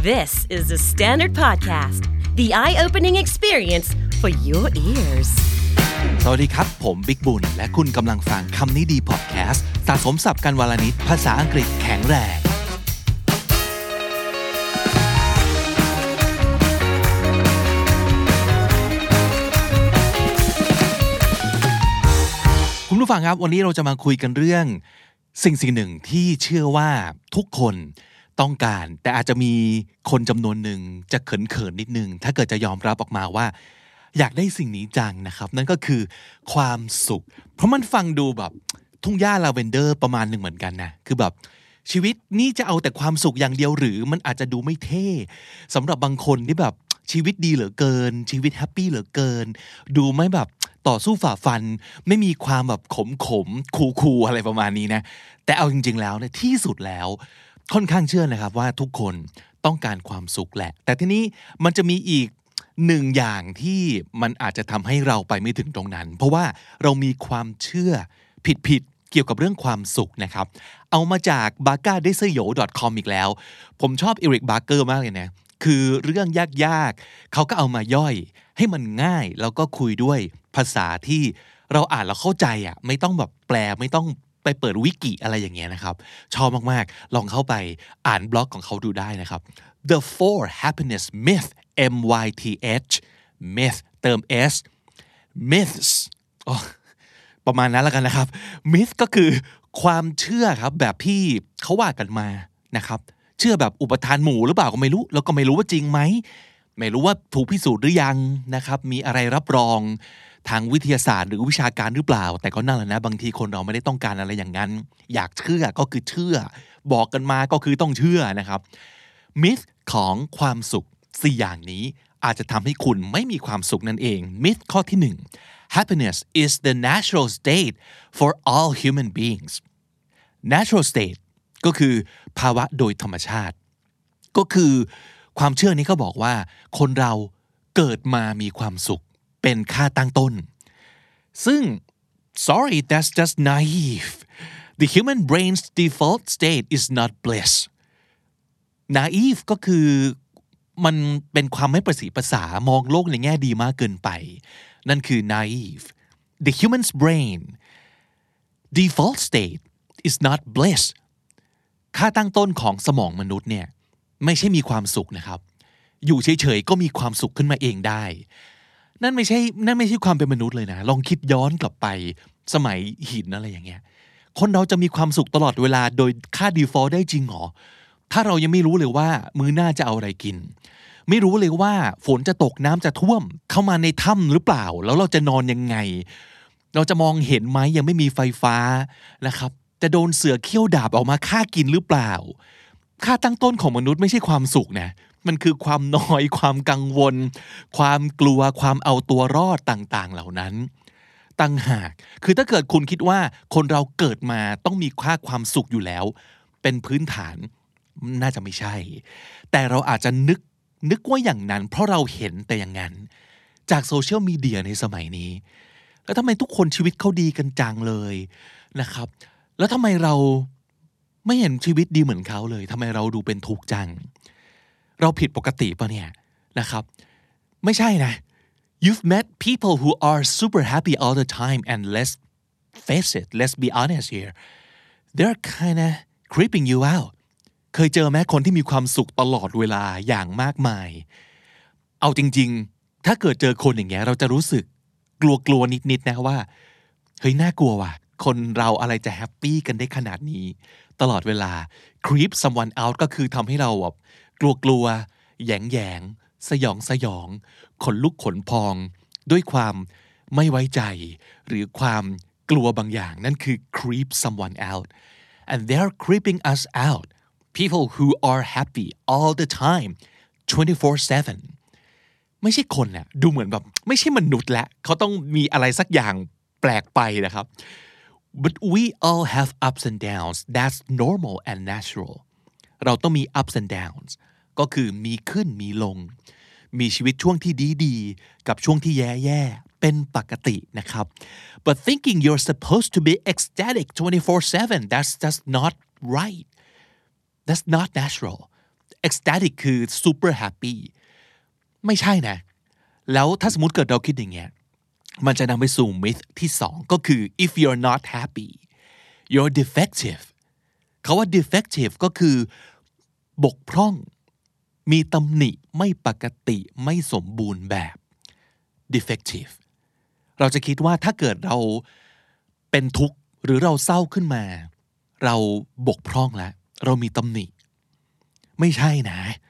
This is the Standard Podcast, the eye-opening experience for your ears. สวัสดีครับผมบิ๊กบุญและคุณกำลังฟังคำนี้ดีพอดแคสต์สะสมศัพท์กันวลนิดภาษาอังกฤษแข็งแรงคุณผู้ฟังครับวันนี้เราจะมาคุยกันเรื่องสิ่งหนึ่งที่เชื่อว่าทุกคนต้องการแต่อาจจะมีคนจำนวนหนึ่งจะเขินๆนิดนึงถ้าเกิดจะยอมรับออกมาว่าอยากได้สิ่งนี้จังนะครับนั่นก็คือความสุขเพราะมันฟังดูแบบทุ่งหญ้าลาเวนเดอร์ประมาณหนึ่งเหมือนกันนะคือแบบชีวิตนี่จะเอาแต่ความสุขอย่างเดียวหรือมันอาจจะดูไม่เท่สำหรับบางคนที่แบบชีวิตดีเหลือเกินชีวิตแฮปปี้เหลือเกินดูไม่แบบต่อสู้ฝ่าฟันไม่มีความแบบขมคูลอะไรประมาณนี้นะแต่เอาจริงๆแล้วเนี่ยที่สุดแล้วค่อนข้างเชื่อนะครับว่าทุกคนต้องการความสุขแหละแต่ทีนี้มันจะมีอีกหนึ่งอย่างที่มันอาจจะทำให้เราไปไม่ถึงตรงนั้นเพราะว่าเรามีความเชื่อผิดเกี่ยวกับเรื่องความสุขนะครับเอามาจาก bagardeseo.com อีกแล้วผมชอบเอริกบาร์เกอร์มากเลยนะคือเรื่องยากๆเขาก็เอามาย่อยให้มันง่ายแล้วก็คุยด้วยภาษาที่เราอ่านแล้วเข้าใจอ่ะไม่ต้องแบบแปลไม่ต้องไปเปิดวิกิอะไรอย่างเงี้ยนะครับชอบมากๆลองเข้าไปอ่านบล็อกของเขาดูได้นะครับ The Four Happiness Myth MYTH Myth เติม S Myths ประมาณนั้นแล้วกันนะครับ Myth ก็คือความเชื่อครับแบบที่เขาว่ากันมานะครับเชื่อแบบอุปทานหมู่หรือเปล่าก็ไม่รู้แล้วก็ไม่รู้ว่าจริงไหมไม่รู้ว่าถูกพิสูจน์หรือยังนะครับมีอะไรรับรองทางวิทยาศาสตร์หรือวิชาการหรือเปล่าแต่ก็นั่นแหละนะบางทีคนเราไม่ได้ต้องการอะไรอย่างนั้นอยากเชื่อก็คือเชื่อบอกกันมาก็คือต้องเชื่อนะครับมิธของความสุข4อย่างนี้อาจจะทำให้คุณไม่มีความสุขนั่นเองมิธข้อที่1 Happiness is the natural state for all human beings natural state ก็คือภาวะโดยธรรมชาติก็คือความเชื่อนี้เขาบอกว่าคนเราเกิดมามีความสุขเป็นค่าตั้งต้นซึ่ง sorry that's just naive the human brain's default state is not bliss naive ก็คือมันเป็นความไม่ประสีภาษามองโลกในแง่ดีมากเกินไปนั่นคือ naive the human's brain default state is not bliss ค่าตั้งต้นของสมองมนุษย์เนี่ยไม่ใช่มีความสุขนะครับอยู่เฉยๆก็มีความสุขขึ้นมาเองได้นั่นไม่ใช่ความเป็นมนุษย์เลยนะลองคิดย้อนกลับไปสมัยหินอะไรอย่างเงี้ยคนเราจะมีความสุขตลอดเวลาโดยค่า default ได้จริงหรอถ้าเรายังไม่รู้เลยว่ามื้อหน้าจะเอาอะไรกินไม่รู้เลยว่าฝนจะตกน้ำจะท่วมเข้ามาในถ้ำหรือเปล่าแล้วเราจะนอนยังไงเราจะมองเห็นไหมยังไม่มีไฟฟ้านะครับจะโดนเสือเขี้ยวดาบออกมาฆ่ากินหรือเปล่าค่าตั้งต้นของมนุษย์ไม่ใช่ความสุขนะมันคือความนอยความกังวลความกลัวความเอาตัวรอดต่างๆเหล่านั้นต่างหากคือถ้าเกิดคุณคิดว่าคนเราเกิดมาต้องมีค่าความสุขอยู่แล้วเป็นพื้นฐานน่าจะไม่ใช่แต่เราอาจจะนึกว่าอย่างนั้นเพราะเราเห็นแต่อย่างนั้นจากโซเชียลมีเดียในสมัยนี้แล้วทำไมทุกคนชีวิตเขาดีกันจังเลยนะครับแล้วทำไมเราไม่เห็นชีวิตดีเหมือนเขาเลยทำไมเราดูเป็นทุกข์จังเราผิดปกติป่ะเนี่ยนะครับไม่ใช่นะ You've met people who are super happy all the time and let's face it let's be honest here they're kinda creeping you out เคยเจอไหมคนที่มีความสุขตลอดเวลาอย่างมากมายเอาจริงๆถ้าเกิดเจอคนอย่างเงี้ยเราจะรู้สึกกลัวนิดๆนะว่าเฮ้ยน่ากลัวว่ะคนเราอะไรจะแฮปปี้กันได้ขนาดนี้ตลอดเวลา creep someone out ก็คือทำให้เราแบบกลัวแยงสยองขนลุกขนพองด้วยความไม่ไว้ใจหรือความกลัวบางอย่างนั่นคือ creep someone out and they're creeping us out people who are happy all the time 24/7 ไม่ใช่คนน่ะดูเหมือนแบบไม่ใช่มนุษย์ละเขาต้องมีอะไรสักอย่างแปลกไปนะครับ but we all have ups and downs that's normal and natural เราต้องมี ups and downs ก็คือมีขึ้นมีลงมีชีวิตช่วงที่ดีๆกับช่วงที่แย่ๆเป็นปกตินะครับ but thinking you're supposed to be ecstatic 24/7 that's not right that's not natural ecstatic คือ super happy ไม่ใช่นะแล้วถ้าสมมติเกิดเราคิดอย่างเงี้ยมันจะนำไปสู่ myth ที่2ก็คือ if you're not happy you're defective คำว่า defective ก็คือบกพร่องมีตำหนิไม่ปกติไม่สมบูรณ์แบบ defective เราจะคิดว่าถ้าเกิดเราเป็นทุกข์หรือเราเศร้าขึ้นมาเราบกพร่องแล้วเรามีตำหนิไม่ใช่นะ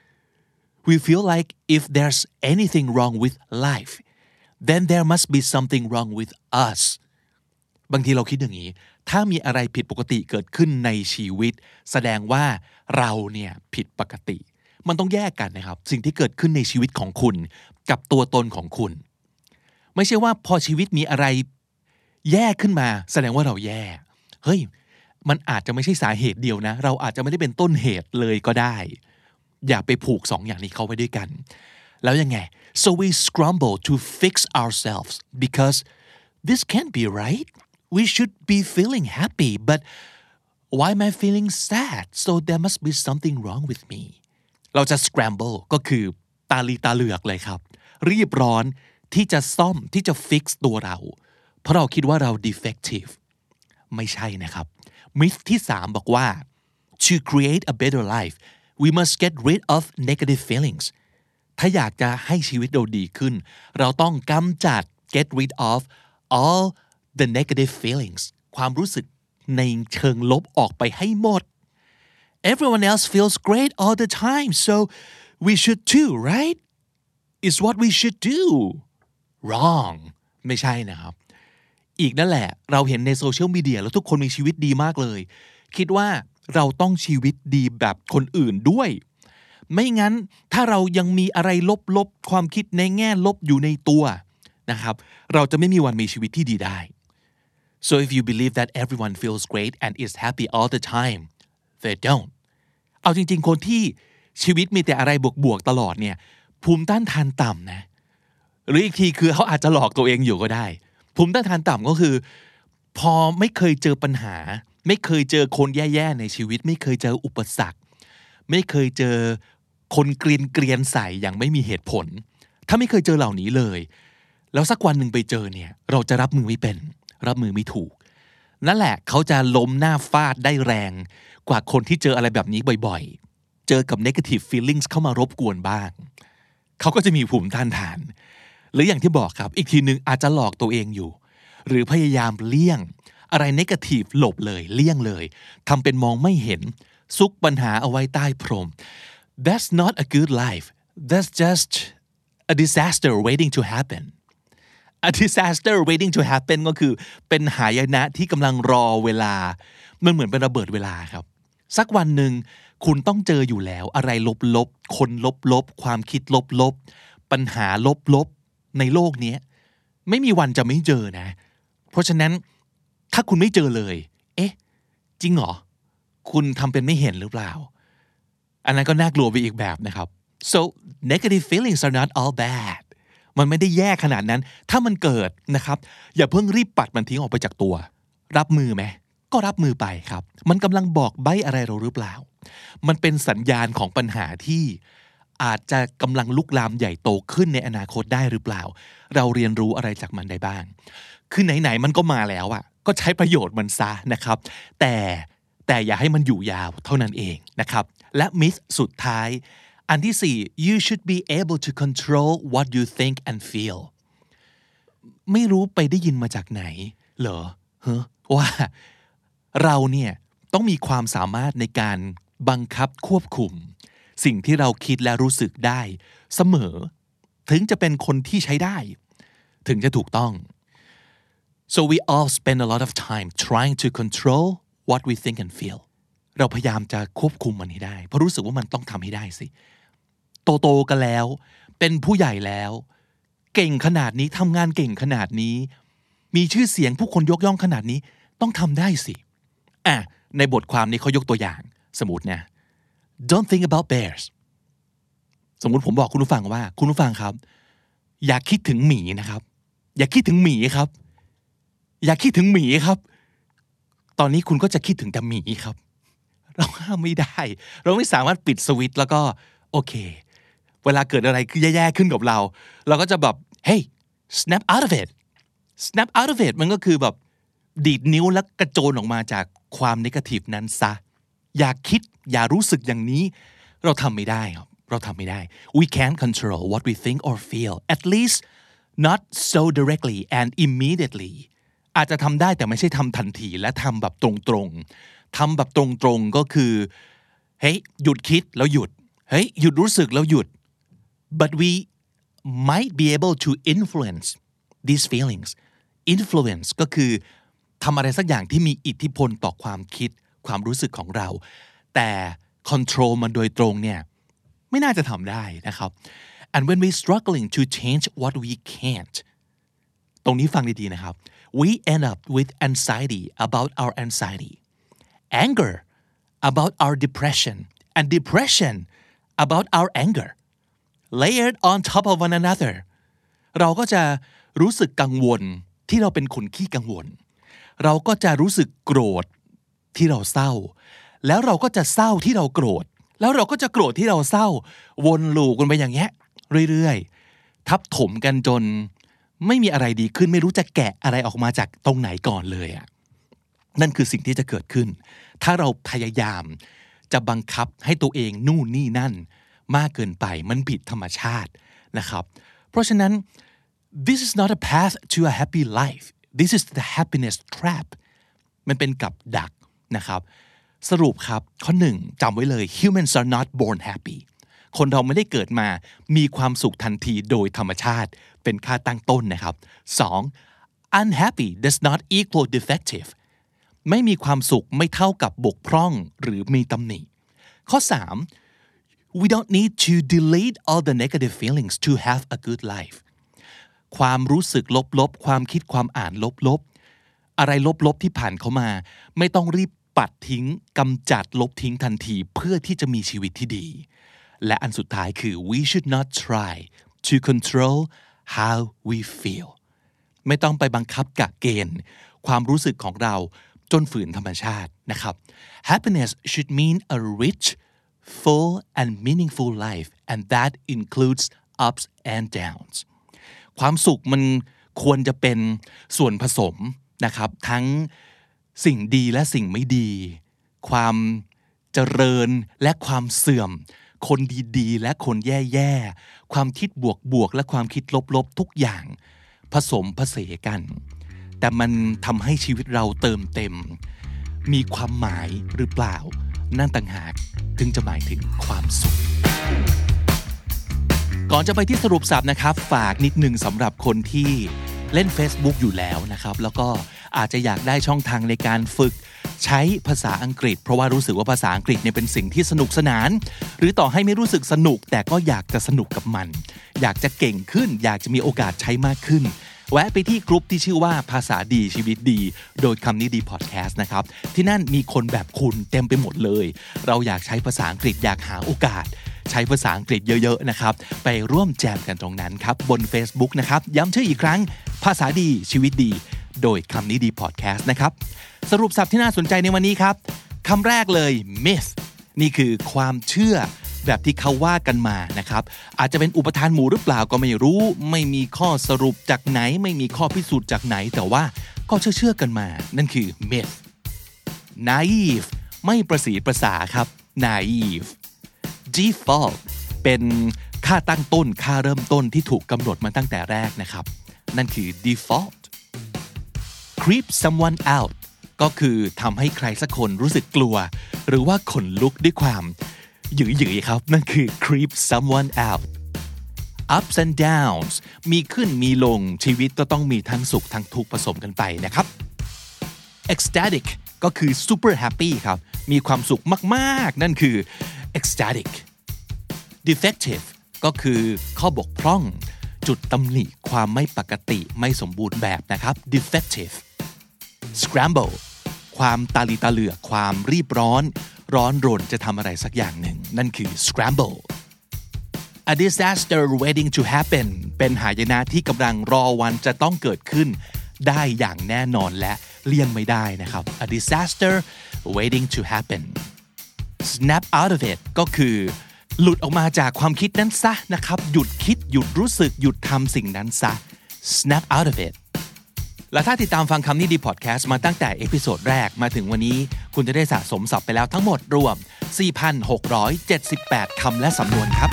we feel like if there's anything wrong with life then there must be something wrong with us บางทีเราคิดอย่างนี้ถ้ามีอะไรผิดปกติเกิดขึ้นในชีวิตแสดงว่าเราเนี่ยผิดปกติมันต้องแยกกันนะครับสิ่งที่เกิดขึ้นในชีวิตของคุณกับตัวตนของคุณไม่ใช่ว่าพอชีวิตมีอะไรแย่ขึ้นมาแสดงว่าเราแย่เฮ้ยมันอาจจะไม่ใช่สาเหตุเดียวนะเราอาจจะไม่ได้เป็นต้นเหตุเลยก็ได้อย่าไปผูก2 อย่างนี้เข้าไว้ด้วยกันแล้วยังไง so we scramble to fix ourselves because this can't be right we should be feeling happy but why am I feeling sad so there must be something wrong with me เราจะ scramble ก็คือตาลีตาเหลือกเลยครับรีบร้อนที่จะซ่อมที่จะ fix ตัวเราเพราะเราคิดว่าเรา defective ไม่ใช่นะครับมิธที่3บอกว่า to create a better life we must get rid of negative feelings ถ้าอยากจะให้ชีวิตเราดีขึ้นเราต้องกำจัด get rid of all the negative feelings ความรู้สึกในเชิงลบออกไปให้หมด everyone else feels great all the time so we should too right is what we should do wrong ไม่ใช่นะครับอีกนั่นแหละเราเห็นในโซเชียลมีเดียแล้วทุกคนมีชีวิตดีมากเลยคิดว่าเราต้องชีวิตดีแบบคนอื่นด้วยไม่งั้นถ้าเรายังมีอะไรลบๆความคิดในแง่ลบอยู่ในตัวนะครับเราจะไม่มีวันมีชีวิตที่ดีได้ so if you believe that everyone feels great and is happy all the time they don't เอาจริงๆคนที่ชีวิตมีแต่อะไรบวกๆตลอดเนี่ยภูมิต้านทานต่ำนะหรืออีกทีคือเขาอาจจะหลอกตัวเองอยู่ก็ได้ภูมิต้านทานต่ำก็คือพอไม่เคยเจอปัญหาไม่เคยเจอคนแย่ๆในชีวิตไม่เคยเจออุปสรรคไม่เคยเจอคนเกลียนใส่อย่างไม่มีเหตุผลถ้าไม่เคยเจอเหล่านี้เลยแล้วสักวันหนึ่งไปเจอเนี่ยเราจะรับมือไม่เป็นรับมือไม่ถูกนั่นแหละเขาจะล้มหน้าฟาดได้แรงกว่าคนที่เจออะไรแบบนี้บ่อยๆเจอกับ negative feelings เข้ามารบกวนบ้างเขาก็จะมีภูมิต้านทานหรืออย่างที่บอกครับอีกทีนึงอาจจะหลอกตัวเองอยู่หรือพยายามเลี่ยงอะไรเนกาทีฟหลบเลยเลี่ยงเลยทำเป็นมองไม่เห็นซุกปัญหาเอาไว้ใต้พรม That's not a good life That's just a disaster waiting to happen A disaster waiting to happen ก็คือเป็นหายนะที่กำลังรอเวลามันเหมือนเป็นระเบิดเวลาครับสักวันหนึ่งคุณต้องเจออยู่แล้วอะไรลบๆคนลบๆความคิดลบๆปัญหาลบๆในโลกนี้ไม่มีวันจะไม่เจอนะเพราะฉะนั้นถ้าคุณไม่เจอเลยเอ๊ะจริงเหรอคุณทำเป็นไม่เห็นหรือเปล่าอันนั้นก็น่ากลัวไปอีกแบบนะครับ so negative feelings are not all bad มันไม่ได้แย่ขนาดนั้นถ้ามันเกิดนะครับอย่าเพิ่งรีบปัดมันทิ้งออกไปจากตัวรับมือไหมก็รับมือไปครับมันกำลังบอกใบ้อะไรเราหรือเปล่ามันเป็นสัญญาณของปัญหาที่อาจจะกำลังลุกลามใหญ่โตขึ้นในอนาคตได้หรือเปล่าเราเรียนรู้อะไรจากมันได้บ้างคือไหนๆมันก็มาแล้วอ่ะก็ใช้ประโยชน์มันซะนะครับแต่อย่าให้มันอยู่ยาวเท่านั้นเองนะครับและมิธสุดท้ายอันที่4 you should be able to control what you think and feel ไม่รู้ไปได้ยินมาจากไหนเหรอว่าเราเนี่ยต้องมีความสามารถในการบังคับควบคุมสิ่งที่เราคิดและรู้สึกได้เสมอถึงจะเป็นคนที่ใช้ได้ถึงจะถูกต้อง so we all spend a lot of time trying to control what we think and feel เราพยายามจะควบคุมมันให้ได้เพราะรู้สึกว่ามันต้องทำให้ได้สิโตกันแล้วเป็นผู้ใหญ่แล้วเก่งขนาดนี้ทำงานเก่งขนาดนี้มีชื่อเสียงผู้คนยกย่องขนาดนี้ต้องทำได้สิในบทความนี้เขายกตัวอย่างสมมุตินะ Don't think about bears สมมุติผมบอกคุณผู้ฟังว่าคุณผู้ฟังครับอย่าคิดถึงหมีนะครับอย่าคิดถึงหมีครับอย่าคิดถึงหมีครับตอนนี้คุณก็จะคิดถึงแต่หมีครับเราห้ามไม่ได้เราไม่สามารถปิดสวิตช์แล้วก็โอเคเวลาเกิดอะไรคือแย่ๆขึ้นกับเราก็จะแบบ hey snap out of it snap out of it มันก็คือแบบดีดนิ้วแล้วกระโจนออกมาจากความเนกาทีฟนั้นซะอย่าคิดอย่ารู้สึกอย่างนี้เราทำไม่ได้ครับเราทำไม่ได้ we can't control what we think or feel at least not so directly and immediately อาจจะทำได้แต่ไม่ใช่ทำทันทีและทำแบบตรงๆทำแบบตรงๆก็คือเฮ้ยหยุดคิดแล้วหยุดเฮ้ยหยุดรู้สึกแล้วหยุด but we might be able to influence these feelings influence ก็คือทำอะไรสักอย่างที่มีอิทธิพลต่อความคิดความรู้สึกของเราแต่ control มันโดยตรงเนี่ยไม่น่าจะทำได้นะครับ and when we struggling to change what we can't ตรงนี้ฟังดีๆนะครับ we end up with anxiety about our anxiety anger about our depression and depression about our anger layered on top of one another เราก็จะรู้สึกกังวลที่เราเป็นคนขี้กังวลเราก็จะรู้สึกโกรธที่เราเศร้าแล้วเราก็จะเศร้าที่เราโกรธแล้วเราก็จะโกรธที่เราเศร้าวนลูปกันไปอย่างเงี้ยเรื่อยๆทับถมกันจนไม่มีอะไรดีขึ้นไม่รู้จะแกะอะไรออกมาจากตรงไหนก่อนเลยอ่ะนั่นคือสิ่งที่จะเกิดขึ้นถ้าเราพยายามจะบังคับให้ตัวเองนู่นนี่นั่นมากเกินไปมันผิดธรรมชาตินะครับเพราะฉะนั้น this is not a path to a happy life this is the happiness trap มันเป็นกับดักนะครับสรุปครับข้อหนึ่งจำไว้เลย humans are not born happy คนเราไม่ได้เกิดมามีความสุขทันทีโดยธรรมชาติเป็นค่าตั้งต้นนะครับสอง unhappy does not equal defective ไม่มีความสุขไม่เท่ากับบกพร่องหรือมีตำหนิข้อสาม we don't need to delete all the negative feelings to have a good life ความรู้สึกลบๆความคิดความอ่านลบๆอะไรลบๆที่ผ่านเข้ามาไม่ต้องรีบปัดทิ้งกำจัดลบทิ้งทันทีเพื่อที่จะมีชีวิตที่ดีและอันสุดท้ายคือ we should not try to control how we feel ไม่ต้องไปบังคับกะเกณฑ์ความรู้สึกของเราจนฝืนธรรมชาตินะครับ happiness should mean a rich full and meaningful life and that includes ups and downs ความสุขมันควรจะเป็นส่วนผสมนะครับทั้งสิ่งดีและสิ่งไม่ดีความเจริญและความเสื่อมคนดีๆและคนแย่ๆความคิดบวกๆและความคิดลบๆทุกอย่างผสมผสานกันแต่มันทำให้ชีวิตเราเติมเต็มมีความหมายหรือเปล่านั่นต่างหากถึงจะหมายถึงความสุขก่อนจะไปที่สรุปศัพท์นะครับฝากนิดนึงสำหรับคนที่เล่น Facebook อยู่แล้วนะครับแล้วก็อาจจะอยากได้ช่องทางในการฝึกใช้ภาษาอังกฤษเพราะว่ารู้สึกว่าภาษาอังกฤษเนี่ยเป็นสิ่งที่สนุกสนานหรือต่อให้ไม่รู้สึกสนุกแต่ก็อยากจะสนุกกับมันอยากจะเก่งขึ้นอยากจะมีโอกาสใช้มากขึ้นแวะไปที่กลุ่มที่ชื่อว่าภาษาดีชีวิตดีโดยคำนี้ดีพอดแคสต์นะครับที่นั่นมีคนแบบคุณเต็มไปหมดเลยเราอยากใช้ภาษาอังกฤษอยากหาโอกาสใช้ภาษาอังกฤษเยอะๆนะครับไปร่วมแจมกันตรงนั้นครับบน Facebook นะครับย้ำชื่ออีกครั้งภาษาดีชีวิตดีโดยคำนี้ดีพอดแคสต์นะครับสรุปศัพท์ที่น่าสนใจในวันนี้ครับคำแรกเลย myth นี่คือความเชื่อแบบที่เขาว่ากันมานะครับอาจจะเป็นอุปทานหมู่หรือเปล่าก็ไม่รู้ไม่มีข้อสรุปจากไหนไม่มีข้อพิสูจน์จากไหนแต่ว่าก็เชื่อกันมานั่นคือ myth naive ไม่ประสีประสาครับ naive default เป็นค่าตั้งต้นค่าเริ่มต้นที่ถูกกำหนดมาตั้งแต่แรกนะครับนั่นคือ default creep someone out ก็คือทำให้ใครสักคนรู้สึกกลัวหรือว่าขนลุกด้วยความหยิ่ยๆครับนั่นคือ creep someone out ups and downs มีขึ้นมีลงชีวิตก็ต้องมีทั้งสุขทั้งทุกข์ผสมกันไปนะครับ ecstatic ก็คือ super happy ครับมีความสุขมากๆนั่นคือ ecstatic defective ก็คือข้อบกพร่องจุดตำหนิความไม่ปกติไม่สมบูรณ์แบบนะครับ defective scramble ความตาลีตาเหลือกความรีบร้อนรนจะทำอะไรสักอย่างหนึ่งนั่นคือ scramble a disaster waiting to happen เป็นหายนะที่กำลังรอวันจะต้องเกิดขึ้นได้อย่างแน่นอนและเลี่ยงไม่ได้นะครับ a disaster waiting to happen snap out of it ก็คือหลุดออกมาจากความคิดนั้นซะนะครับหยุดคิดหยุดรู้สึกหยุดทำสิ่งนั้นซะ snap out of it และถ้าติดตามฟังคำนี้ดีพอดแคสต์มาตั้งแต่เอพิโซดแรกมาถึงวันนี้คุณจะได้สะสมศัพท์ไปแล้วทั้งหมดรวม 4,678 คำและสำนวนครับ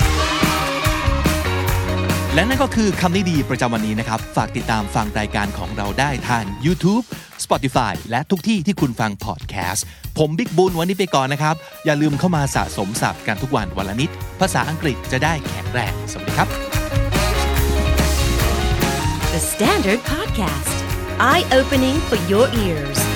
และนั่นก็คือคำนี้ดีประจำวันนี้นะครับฝากติดตามฟังรายการของเราได้ทาง YouTube Spotify และทุกที่ที่คุณฟังพอดแคสต์ผมบิ๊กบุญวันนี้ไปก่อนนะครับอย่าลืมเข้ามาสะสมศัพท์กันทุกวันวันละนิดภาษาอังกฤษจะได้แข็งแรงสวัสดีครับ The Standard Podcast Eye Opening for Your Ears